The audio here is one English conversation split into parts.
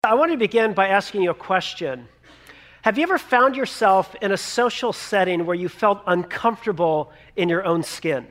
I want to begin by asking you a question. Have you ever found yourself in a social setting where you felt uncomfortable in your own skin?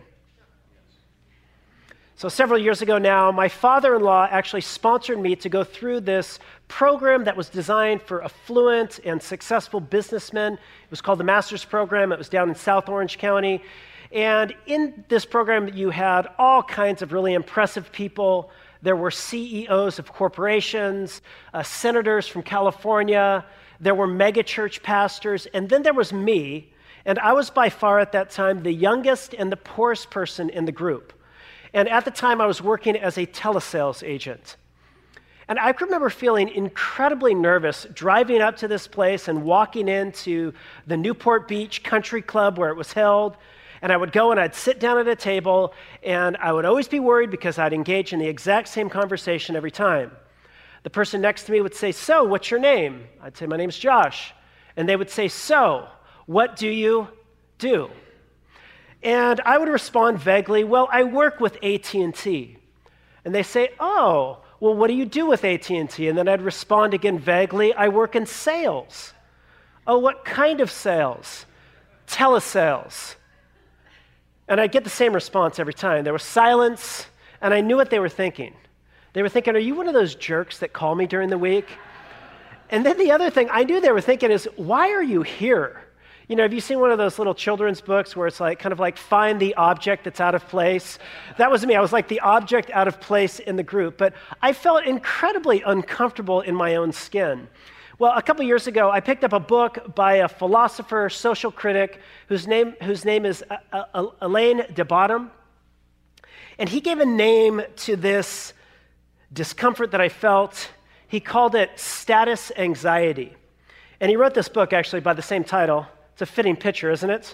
So several years ago now, my father-in-law actually sponsored me to go through this program that was designed for affluent and successful businessmen. It was called the Master's Program. It was down in South Orange County. And in this program, you had all kinds of really impressive people. There were CEOs of corporations, senators from California. There were megachurch pastors. And then there was me. And I was by far at that time the youngest and the poorest person in the group. And at the time, I was working as a telesales agent. And I remember feeling incredibly nervous driving up to this place and walking into the Newport Beach Country Club where it was held. And I would go and I'd sit down at a table, and I would always be worried because I'd engage in the exact same conversation every time. The person next to me would say, "So, what's your name?" I'd say, "My name's Josh." And they would say, "So, what do you do?" And I would respond vaguely, "Well, I work with AT&T." And they say, "Oh, well, what do you do with AT&T?" And then I'd respond again vaguely, "I work in sales." "Oh, what kind of sales?" "Telesales." And I'd get the same response every time. There was silence, and I knew what they were thinking. They were thinking, "Are you one of those jerks that call me during the week?" And then the other thing I knew they were thinking is, "Why are you here?" You know, have you seen one of those little children's books where it's like kind of like find the object that's out of place? That was me. I was like the object out of place in the group. But I felt incredibly uncomfortable in my own skin. Well, a couple years ago, I picked up a book by a philosopher, social critic, whose name is Alain de Botton. And he gave a name to this discomfort that I felt. He called it status anxiety. And he wrote this book, actually, by the same title. It's a fitting picture, isn't it?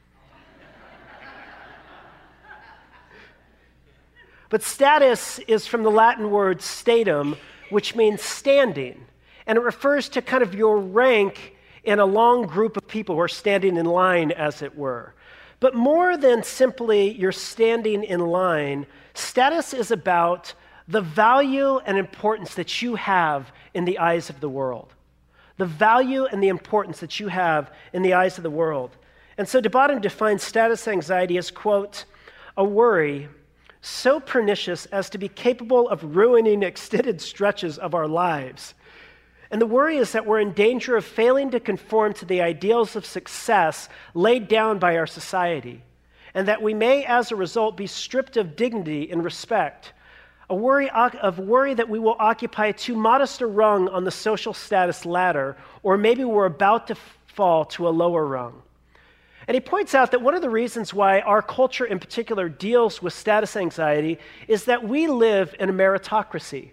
But status is from the Latin word statum, which means standing. And it refers to kind of your rank in a long group of people who are standing in line, as it were. But more than simply you're standing in line, status is about the value and importance that you have in the eyes of the world. The value and the importance that you have in the eyes of the world. And so de Botton defines status anxiety as, quote, "a worry so pernicious as to be capable of ruining extended stretches of our lives." And the worry is that we're in danger of failing to conform to the ideals of success laid down by our society, and that we may, as a result, be stripped of dignity and respect. A worry that we will occupy too modest a rung on the social status ladder, or maybe we're about to fall to a lower rung. And he points out that one of the reasons why our culture in particular deals with status anxiety is that we live in a meritocracy.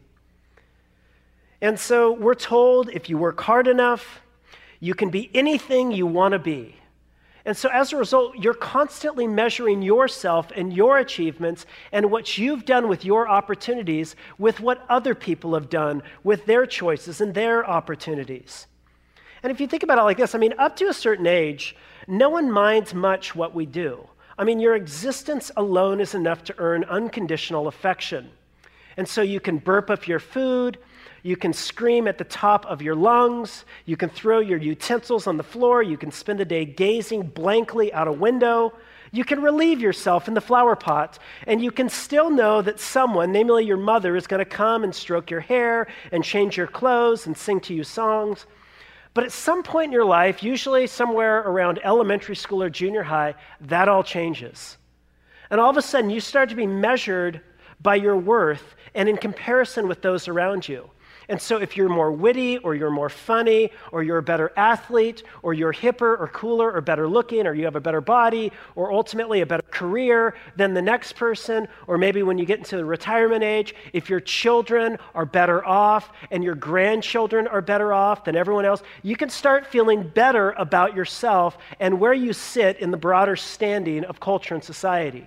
And so we're told if you work hard enough, you can be anything you want to be. And so as a result, you're constantly measuring yourself and your achievements and what you've done with your opportunities with what other people have done with their choices and their opportunities. And if you think about it like this, up to a certain age, no one minds much what we do. Your existence alone is enough to earn unconditional affection. And so you can burp up your food, you can scream at the top of your lungs, you can throw your utensils on the floor, you can spend the day gazing blankly out a window, you can relieve yourself in the flower pot, and you can still know that someone, namely your mother, is going to come and stroke your hair and change your clothes and sing to you songs. But at some point in your life, usually somewhere around elementary school or junior high, that all changes. And all of a sudden, you start to be measured by your worth and in comparison with those around you. And so if you're more witty, or you're more funny, or you're a better athlete, or you're hipper or cooler or better looking, or you have a better body, or ultimately a better career than the next person, or maybe when you get into the retirement age, if your children are better off and your grandchildren are better off than everyone else, you can start feeling better about yourself and where you sit in the broader standing of culture and society.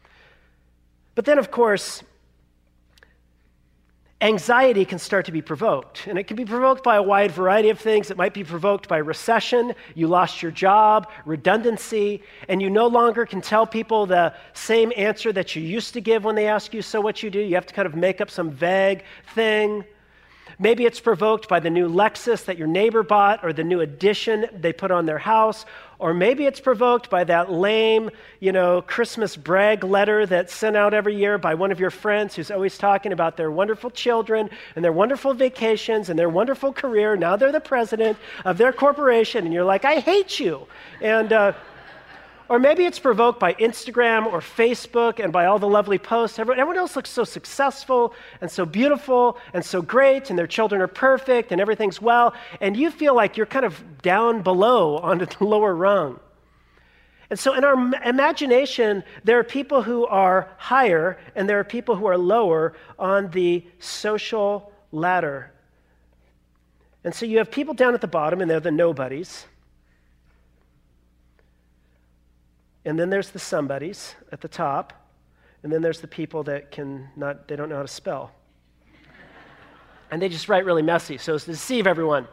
But then, of course, anxiety can start to be provoked, and it can be provoked by a wide variety of things. It might be provoked by recession, you lost your job, redundancy, and you no longer can tell people the same answer that you used to give when they ask you, "So what you do?" You have to kind of make up some vague thing. Maybe it's provoked by the new Lexus that your neighbor bought or the new addition they put on their house. Or maybe it's provoked by that lame, Christmas brag letter that's sent out every year by one of your friends who's always talking about their wonderful children and their wonderful vacations and their wonderful career. Now they're the president of their corporation, and you're like, I hate you. Or maybe it's provoked by Instagram or Facebook and by all the lovely posts. Everyone else looks so successful and so beautiful and so great, and their children are perfect and everything's well, and you feel like you're kind of down below on the lower rung. And so in our imagination, there are people who are higher and there are people who are lower on the social ladder. And so you have people down at the bottom, and they're the nobodies. And then there's the somebodies at the top, and then there's the people that they don't know how to spell. And they just write really messy, so as to deceive everyone.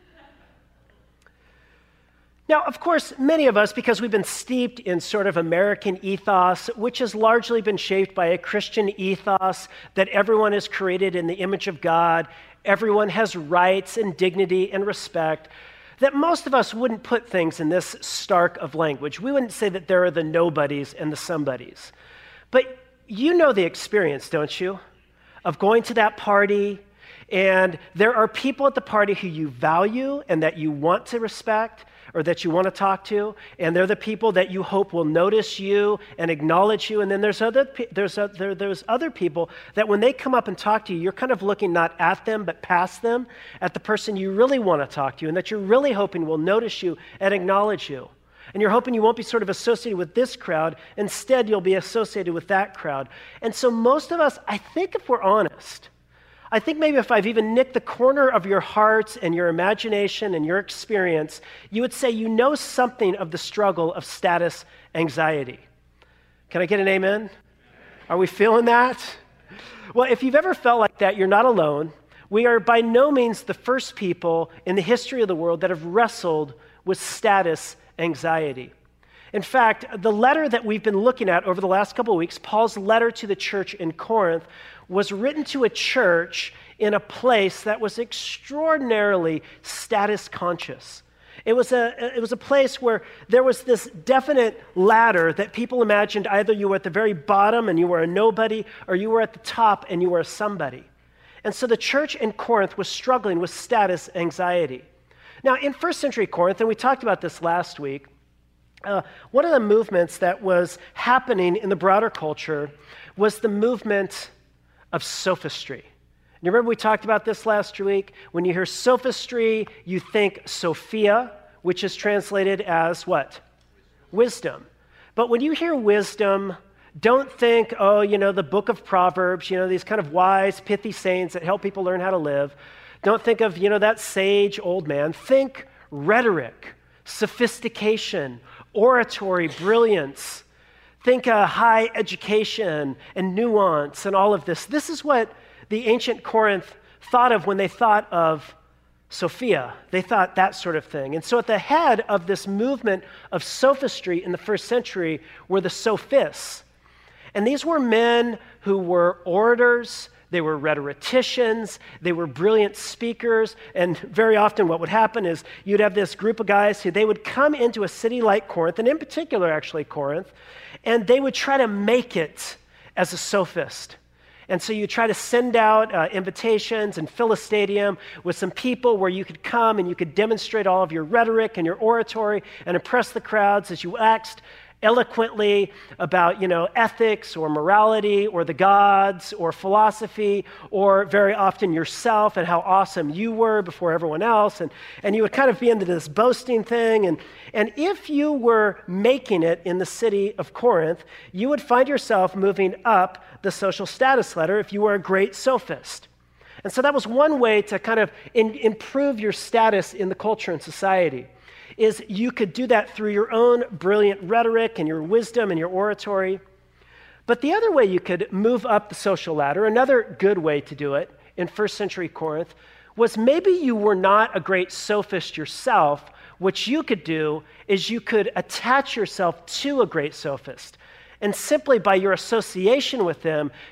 Now, of course, many of us, because we've been steeped in sort of American ethos, which has largely been shaped by a Christian ethos that everyone is created in the image of God, everyone has rights and dignity and respect, that most of us wouldn't put things in this stark of language. We wouldn't say that there are the nobodies and the somebodies. But you know the experience, don't you, of going to that party, and there are people at the party who you value and that you want to respect or that you want to talk to, and they're the people that you hope will notice you and acknowledge you. And then there's other people that when they come up and talk to you, you're kind of looking not at them but past them, at the person you really want to talk to and that you're really hoping will notice you and acknowledge you. And you're hoping you won't be sort of associated with this crowd. Instead, you'll be associated with that crowd. And so most of us, I think if we're honest, I think maybe if I've even nicked the corner of your heart and your imagination and your experience, you would say you know something of the struggle of status anxiety. Can I get an amen? Are we feeling that? Well, if you've ever felt like that, you're not alone. We are by no means the first people in the history of the world that have wrestled with status anxiety. In fact, the letter that we've been looking at over the last couple of weeks, Paul's letter to the church in Corinth, was written to a church in a place that was extraordinarily status conscious. It was a place where there was this definite ladder that people imagined either you were at the very bottom and you were a nobody, or you were at the top and you were a somebody. And so the church in Corinth was struggling with status anxiety. Now, in first century Corinth, and we talked about this last week, one of the movements that was happening in the broader culture was the movement of sophistry. You remember we talked about this last week? When you hear sophistry, you think Sophia, which is translated as what? Wisdom. But when you hear wisdom, don't think, the book of Proverbs, these kind of wise, pithy sayings that help people learn how to live. Don't think of, that sage old man. Think rhetoric, sophistication, oratory, brilliance. Think high education and nuance and all of this. This is what the ancient Corinth thought of when they thought of Sophia. They thought that sort of thing. And so at the head of this movement of sophistry in the first century were the sophists. And these were men who were orators, they were rhetoricians, they were brilliant speakers, and very often what would happen is you'd have this group of guys who they would come into a city like Corinth, and in particular actually Corinth, and they would try to make it as a sophist. And so you try to send out invitations and fill a stadium with some people where you could come and you could demonstrate all of your rhetoric and your oratory and impress the crowds as you waxed eloquently about, ethics or morality or the gods or philosophy or very often yourself and how awesome you were before everyone else. And you would kind of be into this boasting thing. And if you were making it in the city of Corinth, you would find yourself moving up the social status ladder if you were a great sophist. And so that was one way to kind of improve your status in the culture and society. Is you could do that through your own brilliant rhetoric and your wisdom and your oratory. But the other way you could move up the social ladder, another good way to do it in first century Corinth, was maybe you were not a great sophist yourself. What you could do is you could attach yourself to a great sophist. And simply by your association with them,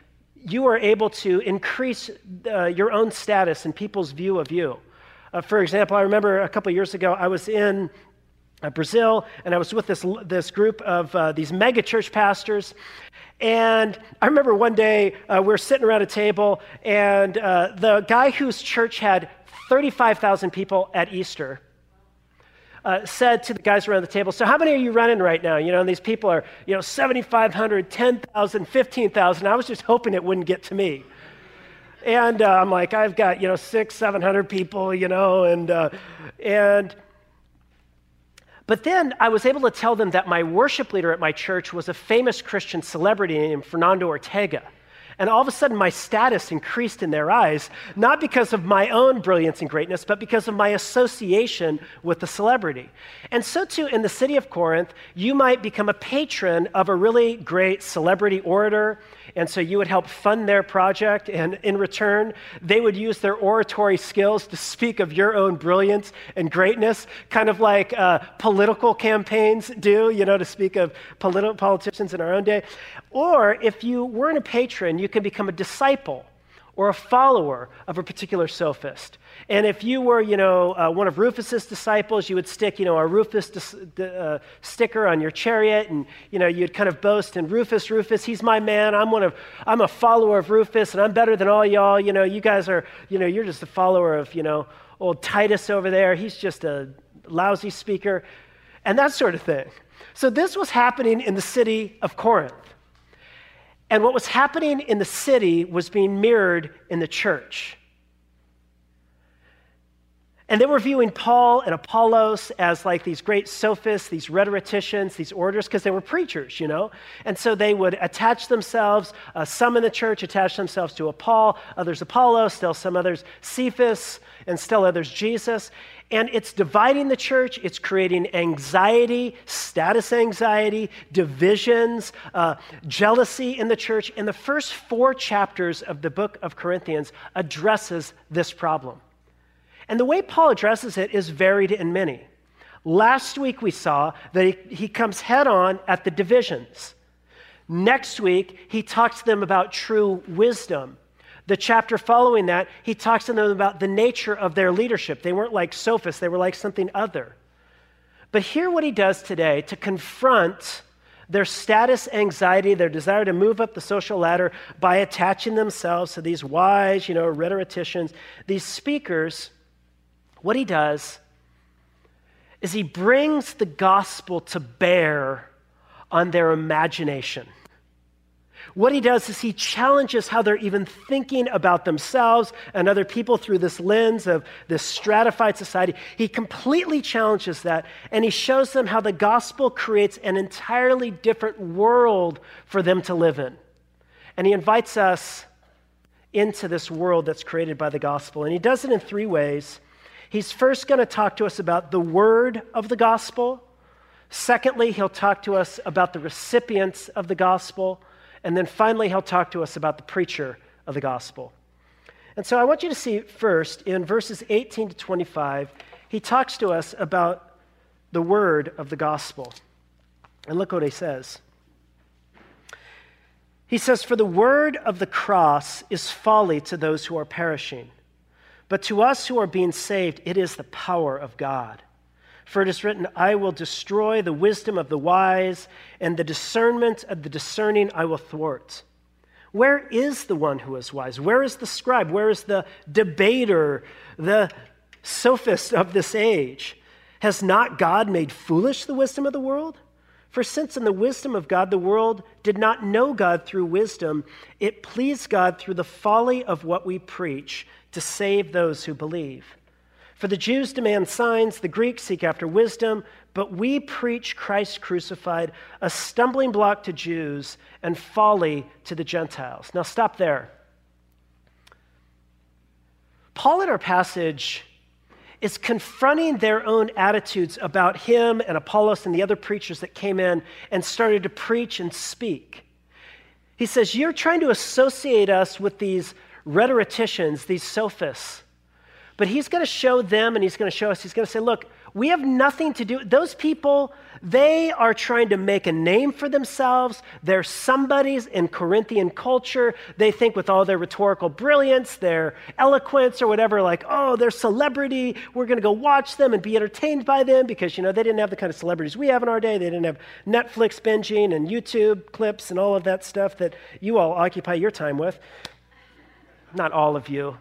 you are able to increase your own status and people's view of you. For example, I remember a couple years ago, I was in Brazil, and I was with this group of these mega church pastors. And I remember one day we were sitting around a table, and the guy whose church had 35,000 people at Easter said to the guys around the table, so how many are you running right now? And these people are, 7,500, 10,000, 15,000. I was just hoping it wouldn't get to me. And I'm like, I've got, 600, 700 people, but then I was able to tell them that my worship leader at my church was a famous Christian celebrity named Fernando Ortega. And all of a sudden, my status increased in their eyes, not because of my own brilliance and greatness, but because of my association with the celebrity. And so too, in the city of Corinth, you might become a patron of a really great celebrity orator, and so you would help fund their project, and in return, they would use their oratory skills to speak of your own brilliance and greatness, kind of like political campaigns do, to speak of politicians in our own day. Or if you weren't a patron, you can become a disciple or a follower of a particular sophist. And if you were, one of Rufus's disciples, you would stick, a Rufus sticker on your chariot, and, you'd kind of boast, and Rufus, he's my man. I'm a follower of Rufus, and I'm better than all y'all. You guys are, you're just a follower of, old Titus over there. He's just a lousy speaker, and that sort of thing. So this was happening in the city of Corinth. And what was happening in the city was being mirrored in the church. And they were viewing Paul and Apollos as like these great sophists, these rhetoricians, these orators, because they were preachers, And so they would attach themselves, some in the church attach themselves to a Paul, others Apollos, still some others Cephas, and still others Jesus. And it's dividing the church, it's creating anxiety, status anxiety, divisions, jealousy in the church. And the first 4 chapters of the book of Corinthians addresses this problem. And the way Paul addresses it is varied in many. Last week we saw that he comes head on at the divisions. Next week, he talks to them about true wisdom. The chapter following that, he talks to them about the nature of their leadership. They weren't like sophists, they were like something other. But hear what he does today to confront their status anxiety, their desire to move up the social ladder by attaching themselves to these wise, rhetoricians, these speakers. What he does is he brings the gospel to bear on their imagination. What he does is he challenges how they're even thinking about themselves and other people through this lens of this stratified society. He completely challenges that, and he shows them how the gospel creates an entirely different world for them to live in. And he invites us into this world that's created by the gospel. And he does it in 3 ways. He's first going to talk to us about the word of the gospel. Secondly, he'll talk to us about the recipients of the gospel. And then finally, he'll talk to us about the preacher of the gospel. And so I want you to see first in verses 18 to 25, he talks to us about the word of the gospel. And look what he says. He says, "For the word of the cross is folly to those who are perishing, but to us who are being saved, it is the power of God. For it is written, I will destroy the wisdom of the wise, and the discernment of the discerning I will thwart. Where is the one who is wise? Where is the scribe? Where is the debater, the sophist of this age? Has not God made foolish the wisdom of the world? For since in the wisdom of God, the world did not know God through wisdom, it pleased God through the folly of what we preach to save those who believe. For the Jews demand signs, the Greeks seek after wisdom, but we preach Christ crucified, a stumbling block to Jews and folly to the Gentiles." Now stop there. Paul in our passage is confronting their own attitudes about him and Apollos and the other preachers that came in and started to preach and speak. He says, you're trying to associate us with these rhetoricians, these sophists. But he's going to show them and he's going to show us, he's going to say, look, we have nothing to do. Those people, they are trying to make a name for themselves. They're somebodies in Corinthian culture. They think with all their rhetorical brilliance, their eloquence or whatever, like, oh, they're celebrity. We're going to go watch them and be entertained by them because, they didn't have the kind of celebrities we have in our day. They didn't have Netflix binging and YouTube clips and all of that stuff that you all occupy your time with. Not all of you.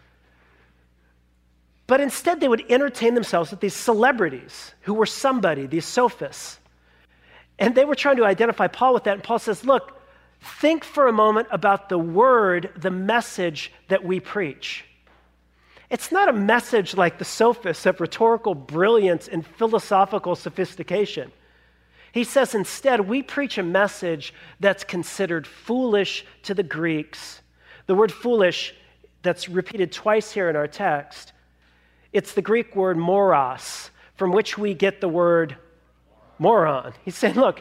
But instead, they would entertain themselves with these celebrities who were somebody, these sophists. And they were trying to identify Paul with that. And Paul says, look, think for a moment about the word, the message that we preach. It's not a message like the sophists of rhetorical brilliance and philosophical sophistication. He says instead, we preach a message that's considered foolish to the Greeks. The word foolish, that's repeated twice here in our text, it's the Greek word moros, from which we get the word moron. He's saying, look,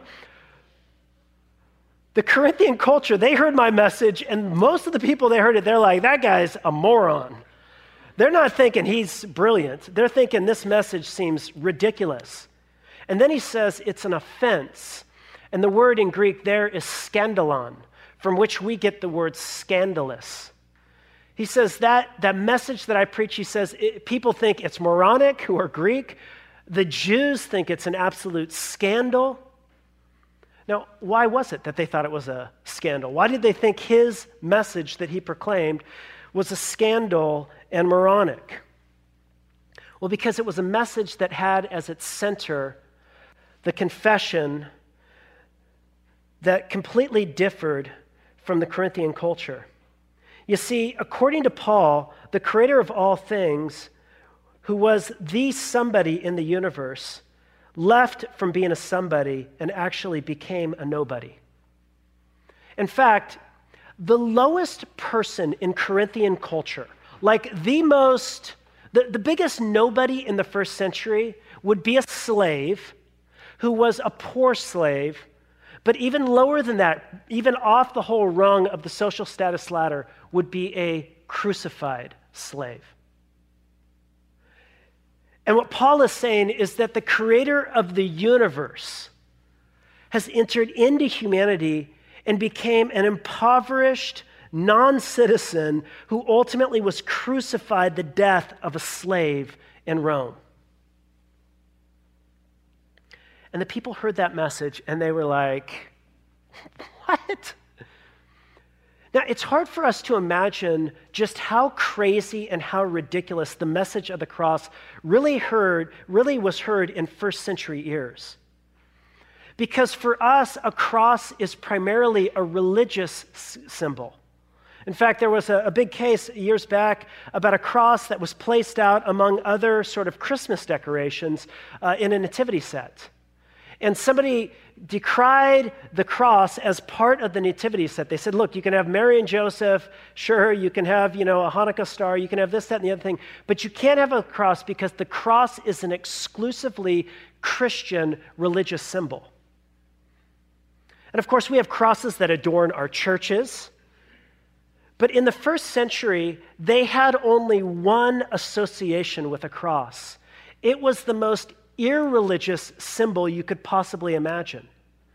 the Corinthian culture, they heard my message, and most of the people they heard it, they're like, that guy's a moron. They're not thinking he's brilliant. They're thinking this message seems ridiculous. And then he says it's an offense. And the word in Greek there is scandalon, from which we get the word scandalous. He says that message that I preach, he says, people think it's moronic who are Greek. The Jews think it's an absolute scandal. Now, why was it that they thought it was a scandal? Why did they think his message that he proclaimed was a scandal and moronic? Well, because it was a message that had as its center the confession that completely differed from the Corinthian culture. You see, according to Paul, the creator of all things, who was the somebody in the universe, left from being a somebody and actually became a nobody. In fact, the lowest person in Corinthian culture, like the biggest nobody in the first century would be a slave who was a poor slave, but even lower than that, even off the whole rung of the social status ladder, would be a crucified slave. And what Paul is saying is that the creator of the universe has entered into humanity and became an impoverished non-citizen who ultimately was crucified the death of a slave in Rome. And the people heard that message and they were like, what? Now, it's hard for us to imagine just how crazy and how ridiculous the message of the cross really was heard in first century ears. Because for us, a cross is primarily a religious symbol. In fact, there was a big case years back about a cross that was placed out among other sort of Christmas decorations in a nativity set. And somebody decried the cross as part of the nativity set. They said, look, you can have Mary and Joseph, sure, you can have, a Hanukkah star, you can have this, that, and the other thing, but you can't have a cross because the cross is an exclusively Christian religious symbol. And of course, we have crosses that adorn our churches, but in the first century, they had only one association with a cross. It was the most irreligious symbol you could possibly imagine.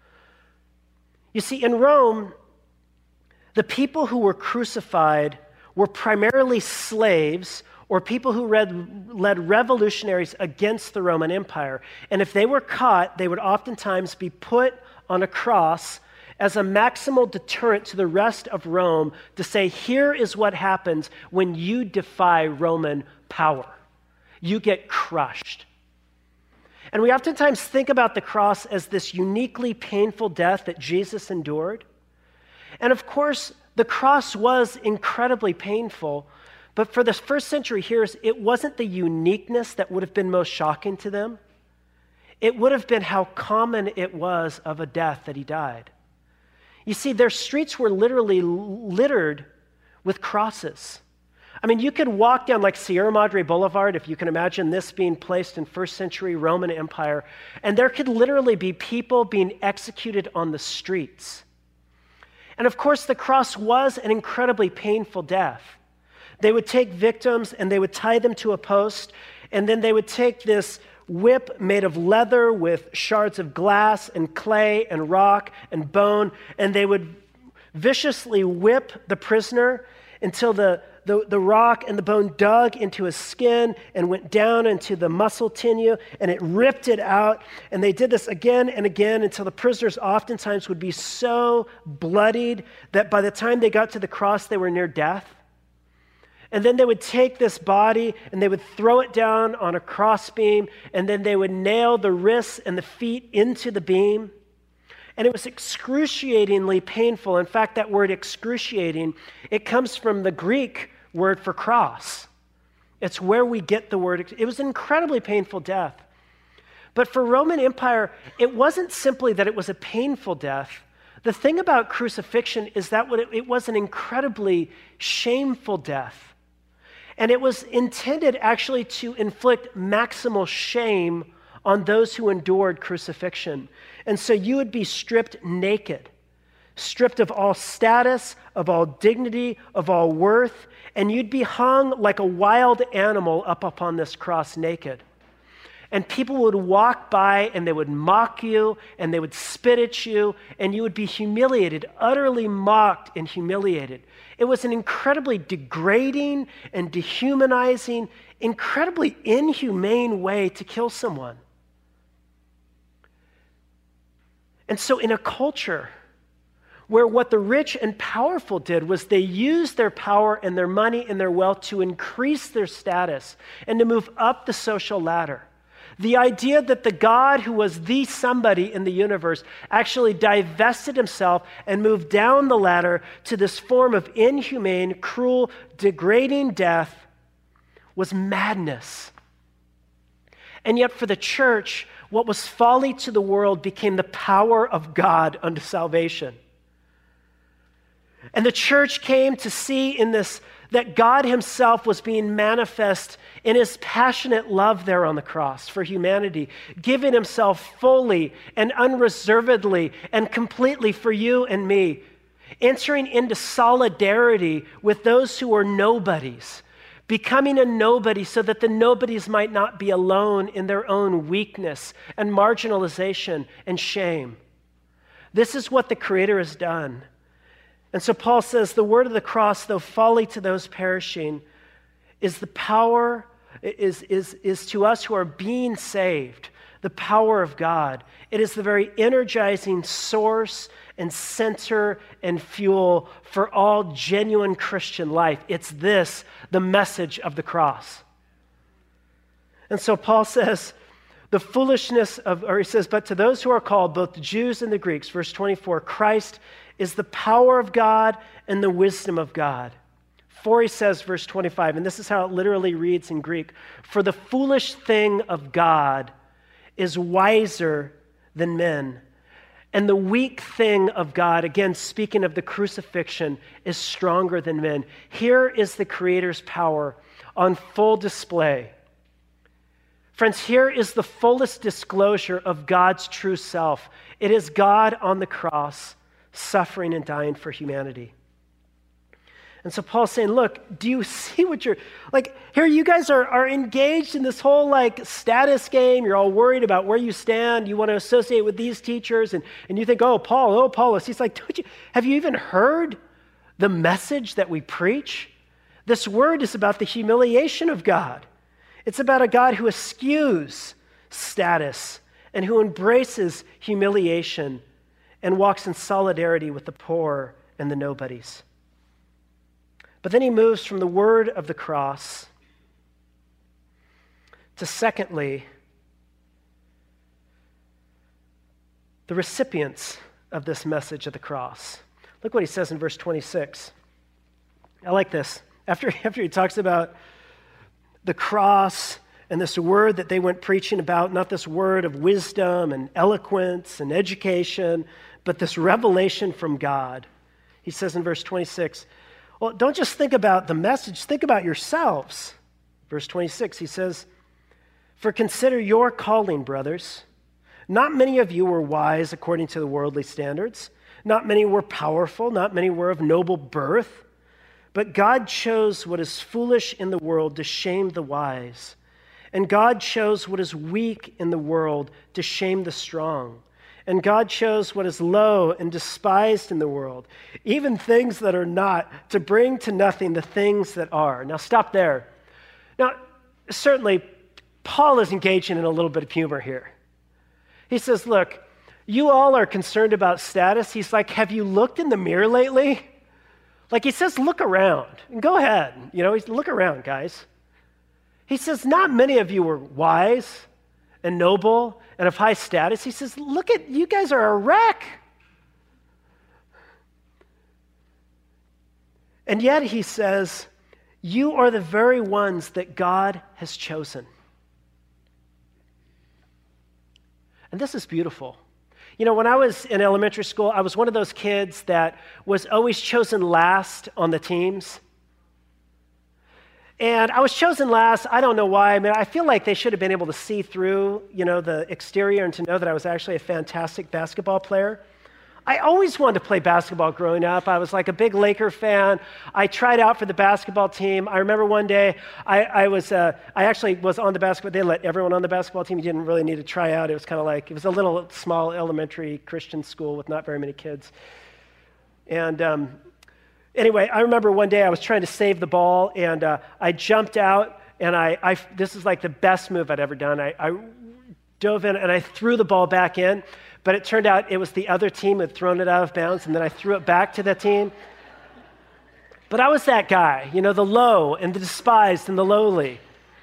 You see, in Rome, the people who were crucified were primarily slaves or people who led revolutionaries against the Roman Empire. And if they were caught, they would oftentimes be put on a cross as a maximal deterrent to the rest of Rome to say, here is what happens when you defy Roman power. You get crushed. And we oftentimes think about the cross as this uniquely painful death that Jesus endured. And of course, the cross was incredibly painful, but for the first century hearers, it wasn't the uniqueness that would have been most shocking to them. It would have been how common it was of a death that he died. You see, their streets were literally littered with crosses. I mean, you could walk down like Sierra Madre Boulevard, if you can imagine this being placed in first century Roman Empire, and there could literally be people being executed on the streets. And of course, the cross was an incredibly painful death They would take victims and they would tie them to a post, and then they would take this whip made of leather with shards of glass and clay and rock and bone, and they would viciously whip the prisoner until the rock and the bone dug into his skin and went down into the muscle tissue, and it ripped it out. And they did this again and again until the prisoners oftentimes would be so bloodied that by the time they got to the cross, they were near death. And then they would take this body and they would throw it down on a crossbeam, and then they would nail the wrists and the feet into the beam. And it was excruciatingly painful. In fact, that word excruciating, it comes from the Greek word for cross. It's where we get the word. It was an incredibly painful death. But for Roman Empire, it wasn't simply that it was a painful death. The thing about crucifixion is that it was an incredibly shameful death. And it was intended actually to inflict maximal shame on those who endured crucifixion. And so you would be stripped naked, stripped of all status, of all dignity, of all worth, and you'd be hung like a wild animal up upon this cross naked. And people would walk by and they would mock you and they would spit at you, and you would be humiliated, utterly mocked and humiliated. It was an incredibly degrading and dehumanizing, incredibly inhumane way to kill someone. And so in a culture where what the rich and powerful did was they used their power and their money and their wealth to increase their status and to move up the social ladder, the idea that the God who was the somebody in the universe actually divested himself and moved down the ladder to this form of inhumane, cruel, degrading death was madness. And yet for the church, what was folly to the world became the power of God unto salvation. And the church came to see in this that God himself was being manifest in his passionate love there on the cross for humanity, giving himself fully and unreservedly and completely for you and me, entering into solidarity with those who were nobodies, becoming a nobody so that the nobodies might not be alone in their own weakness and marginalization and shame. This is what the Creator has done. And so Paul says, the word of the cross, though folly to those perishing, is the power, is to us who are being saved, the power of God. It is the very energizing source and center and fuel for all genuine Christian life. It's this, the message of the cross. And so Paul says, the foolishness of, or he says, but to those who are called, both the Jews and the Greeks, verse 24, Christ is the power of God and the wisdom of God. For he says, verse 25, and this is how it literally reads in Greek, for the foolish thing of God is wiser than men, and the weak thing of God, again, speaking of the crucifixion, is stronger than men. Here is the Creator's power on full display. Friends, here is the fullest disclosure of God's true self. It is God on the cross, suffering and dying for humanity. And so Paul's saying, look, do you see what you're, like, here you guys are engaged in this whole, like, status game. You're all worried about where you stand. You want to associate with these teachers. And you think, oh, Apollos. He's like, have you even heard the message that we preach? This word is about the humiliation of God. It's about a God who eschews status and who embraces humiliation and walks in solidarity with the poor and the nobodies. But then he moves from the word of the cross to, secondly, the recipients of this message of the cross. Look what he says in verse 26. I like this. After he talks about the cross and this word that they went preaching about, not this word of wisdom and eloquence and education, but this revelation from God. He says in verse 26, well, don't just think about the message, think about yourselves. Verse 26, he says, for consider your calling, brothers. Not many of you were wise according to the worldly standards. Not many were powerful. Not many were of noble birth. But God chose what is foolish in the world to shame the wise. And God chose what is weak in the world to shame the strong. And God chose what is low and despised in the world, even things that are not, to bring to nothing the things that are. Now stop there. Now, certainly, Paul is engaging in a little bit of humor here. He says, look, you all are concerned about status. He's like, have you looked in the mirror lately? Like he says, look around. And go ahead. Look around, guys. He says, not many of you are wise and noble and of high status. He says, look at, you guys are a wreck. And yet he says, you are the very ones that God has chosen. And this is beautiful. When I was in elementary school, I was one of those kids that was always chosen last on the teams. And I was chosen last. I don't know why. I mean, I feel like they should have been able to see through, the exterior and to know that I was actually a fantastic basketball player. I always wanted to play basketball growing up. I was like a big Laker fan. I tried out for the basketball team. I remember one day I actually was on the basketball. They let everyone on the basketball team. You didn't really need to try out. It was kind of like, it was a little small elementary Christian school with not very many kids. And anyway, I remember one day I was trying to save the ball, and I jumped out, and this is like the best move I'd ever done. I dove in, and I threw the ball back in. But it turned out it was the other team that had thrown it out of bounds, and then I threw it back to the team. But I was that guy, the low and the despised and the lowly.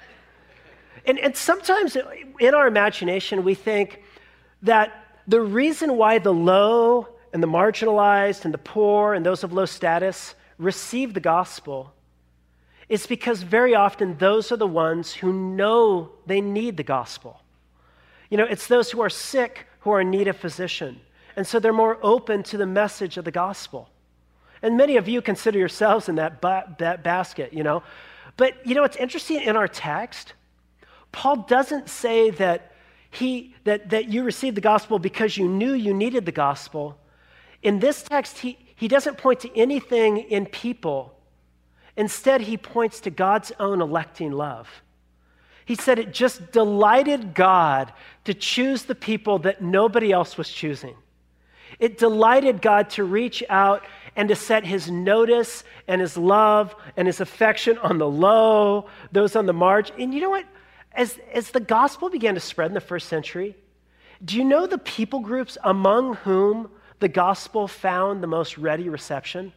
And sometimes in our imagination, we think that the reason why the low and the marginalized and the poor and those of low status receive the gospel is because very often those are the ones who know they need the gospel. It's those who are sick who are in need of physician. And so they're more open to the message of the gospel. And many of you consider yourselves in that basket, But, it's interesting in our text, Paul doesn't say that you received the gospel because you knew you needed the gospel. In this text, he doesn't point to anything in people. Instead, he points to God's own electing love. He said it just delighted God to choose the people that nobody else was choosing. It delighted God to reach out and to set his notice and his love and his affection on the low, those on the margin. And you know what? As the gospel began to spread in the first century, do you know the people groups among whom the gospel found the most ready reception?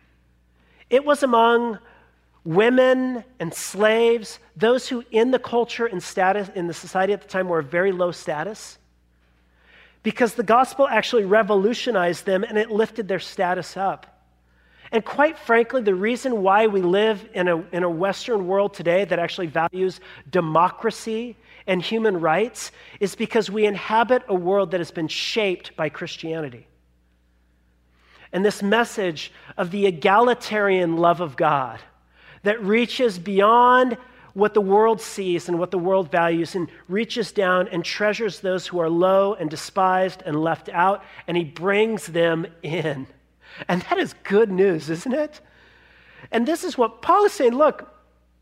It was among women and slaves, those who in the culture and status in the society at the time were very low status, because the gospel actually revolutionized them and it lifted their status up. And quite frankly, the reason why we live in a Western world today that actually values democracy and human rights is because we inhabit a world that has been shaped by Christianity. And this message of the egalitarian love of God that reaches beyond what the world sees and what the world values and reaches down and treasures those who are low and despised and left out, and he brings them in. And that is good news, isn't it? And this is what Paul is saying, look,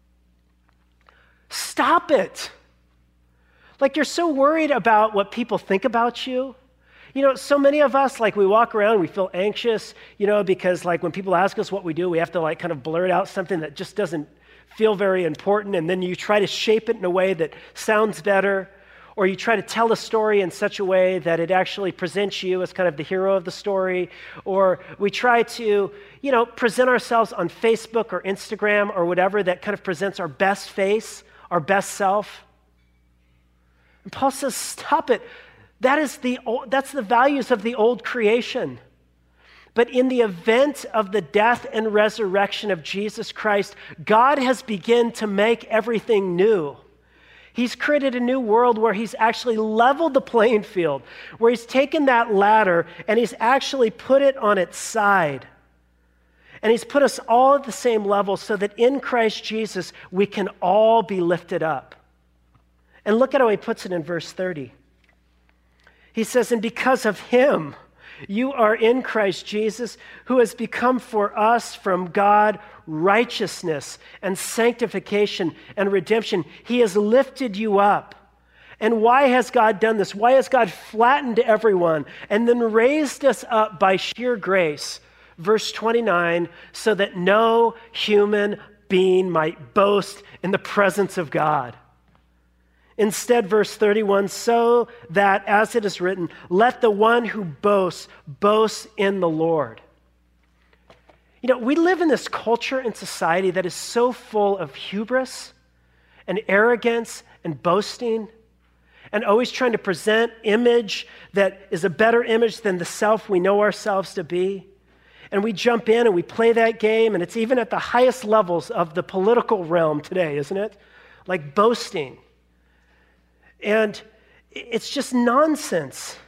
stop it. Like you're so worried about what people think about you. So many of us, we walk around, we feel anxious, because when people ask us what we do, we have to kind of blurt out something that just doesn't feel very important, and then you try to shape it in a way that sounds better, or you try to tell a story in such a way that it actually presents you as kind of the hero of the story, or we try to, present ourselves on Facebook or Instagram or whatever that kind of presents our best face, our best self. And Paul says, stop it. That's the values of the old creation. But in the event of the death and resurrection of Jesus Christ, God has begun to make everything new. He's created a new world where he's actually leveled the playing field, where he's taken that ladder and he's actually put it on its side. And he's put us all at the same level so that in Christ Jesus, we can all be lifted up. And look at how he puts it in verse 30. He says, and because of him, You are in Christ Jesus, who has become for us from God righteousness and sanctification and redemption. He has lifted you up. And why has God done this? Why has God flattened everyone and then raised us up by sheer grace? Verse 29, so that no human being might boast in the presence of God. Instead, verse 31, so that, as it is written, let the one who boasts, boast in the Lord. You know, we live in this culture and society that is so full of hubris and arrogance and boasting and always trying to present image that is a better image than the self we know ourselves to be. And we jump in and we play that game, and it's even at the highest levels of the political realm today, isn't it? Like boasting. And it's just nonsense.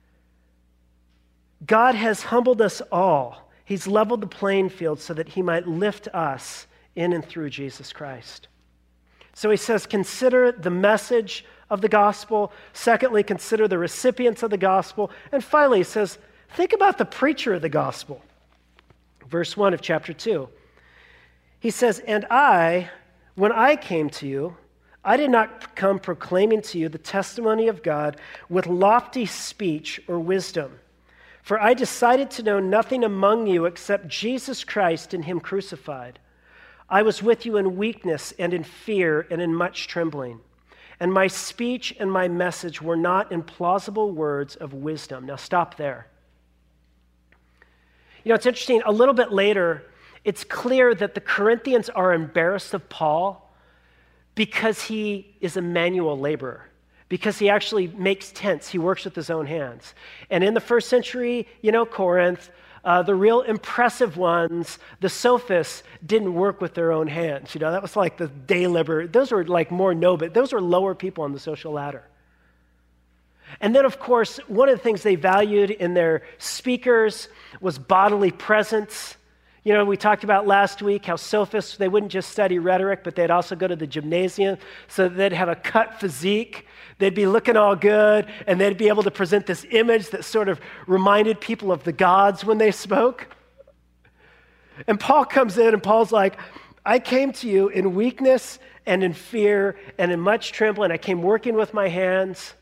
God has humbled us all. He's leveled the playing field so that he might lift us in and through Jesus Christ. So he says, consider the message of the gospel. Secondly, consider the recipients of the gospel. And finally, he says, think about the preacher of the gospel. Verse 1 of chapter 2. He says, and I, when I came to you, I did not come proclaiming to you the testimony of God with lofty speech or wisdom. For I decided to know nothing among you except Jesus Christ and him crucified. I was with you in weakness and in fear and in much trembling. And my speech and my message were not in plausible words of wisdom. Now stop there. You know, it's interesting. A little bit later, it's clear that the Corinthians are embarrassed of Paul because he is a manual laborer, because he actually makes tents. He works with his own hands. And in the first century, Corinth, the real impressive ones, the sophists, didn't work with their own hands. That was like the day laborer. Those were like more noble. Those were lower people on the social ladder. And then, of course, one of the things they valued in their speakers was bodily presence. We talked about last week how sophists, they wouldn't just study rhetoric, but they'd also go to the gymnasium so that they'd have a cut physique. They'd be looking all good, and they'd be able to present this image that sort of reminded people of the gods when they spoke. And Paul comes in, and Paul's like, I came to you in weakness and in fear and in much trembling. I came working with my hands.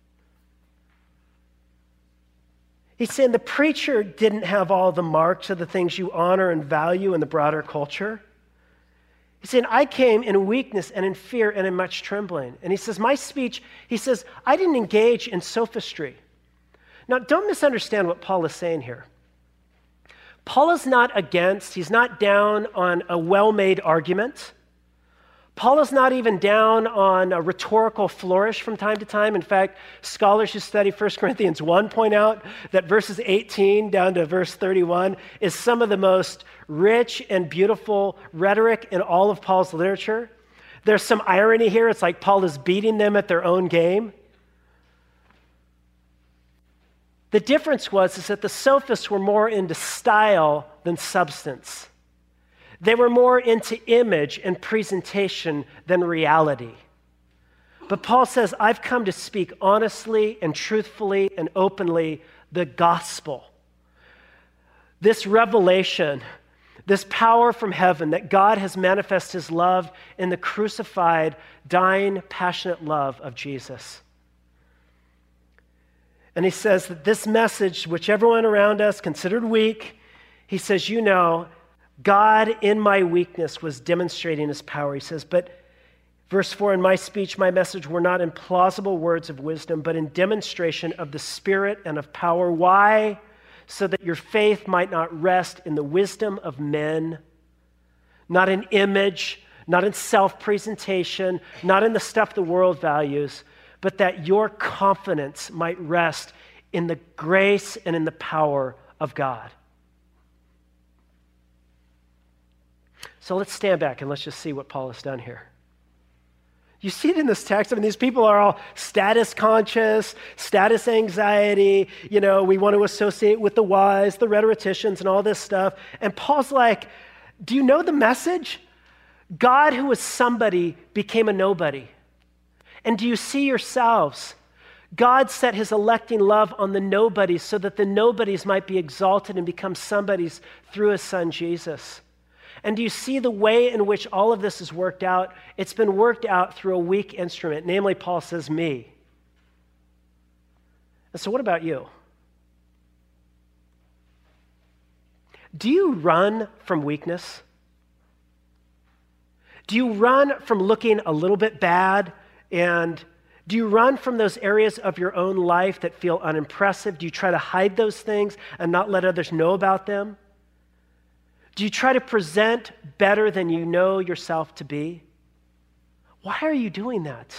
He's saying the preacher didn't have all the marks of the things you honor and value in the broader culture. He's saying, I came in weakness and in fear and in much trembling. And he says, my speech, he says, I didn't engage in sophistry. Now, don't misunderstand what Paul is saying here. Paul is not against, he's not down on a well-made argument. Paul is not even down on a rhetorical flourish from time to time. In fact, scholars who study 1 Corinthians 1 point out that verses 18 down to verse 31 is some of the most rich and beautiful rhetoric in all of Paul's literature. There's some irony here. It's like Paul is beating them at their own game. The difference is that the sophists were more into style than substance. They were more into image and presentation than reality. But Paul says, I've come to speak honestly and truthfully and openly the gospel. This revelation, this power from heaven that God has manifested his love in the crucified, dying, passionate love of Jesus. And he says that this message, which everyone around us considered weak, he says, God in my weakness was demonstrating his power. He says, but verse 4, in my speech, my message were not in plausible words of wisdom, but in demonstration of the Spirit and of power. Why? So that your faith might not rest in the wisdom of men, not in image, not in self-presentation, not in the stuff the world values, but that your confidence might rest in the grace and in the power of God. So let's stand back and let's just see what Paul has done here. You see it in this text. These people are all status conscious, status anxiety. We want to associate with the wise, the rhetoricians, and all this stuff. And Paul's like, do you know the message? God, who was somebody, became a nobody. And do you see yourselves? God set his electing love on the nobodies so that the nobodies might be exalted and become somebodies through his son Jesus. And do you see the way in which all of this is worked out? It's been worked out through a weak instrument, namely, Paul says, me. And so what about you? Do you run from weakness? Do you run from looking a little bit bad? And do you run from those areas of your own life that feel unimpressive? Do you try to hide those things and not let others know about them? Do you try to present better than you know yourself to be? Why are you doing that?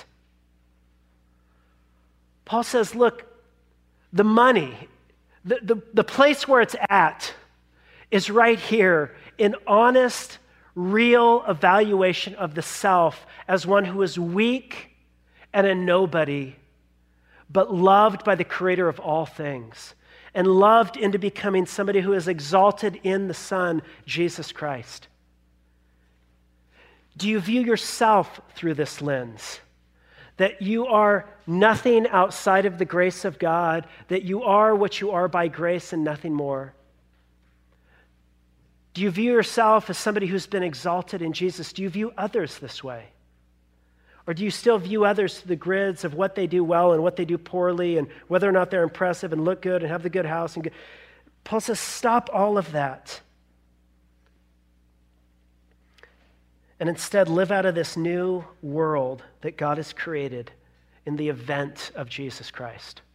Paul says, look, the money, the place where it's at is right here in honest, real evaluation of the self as one who is weak and a nobody, but loved by the creator of all things and loved into becoming somebody who is exalted in the Son, Jesus Christ. Do you view yourself through this lens? That you are nothing outside of the grace of God, that you are what you are by grace and nothing more? Do you view yourself as somebody who's been exalted in Jesus? Do you view others this way? Or do you still view others through the grids of what they do well and what they do poorly and whether or not they're impressive and look good and have the good house? And Paul says, stop all of that. And instead live out of this new world that God has created in the event of Jesus Christ.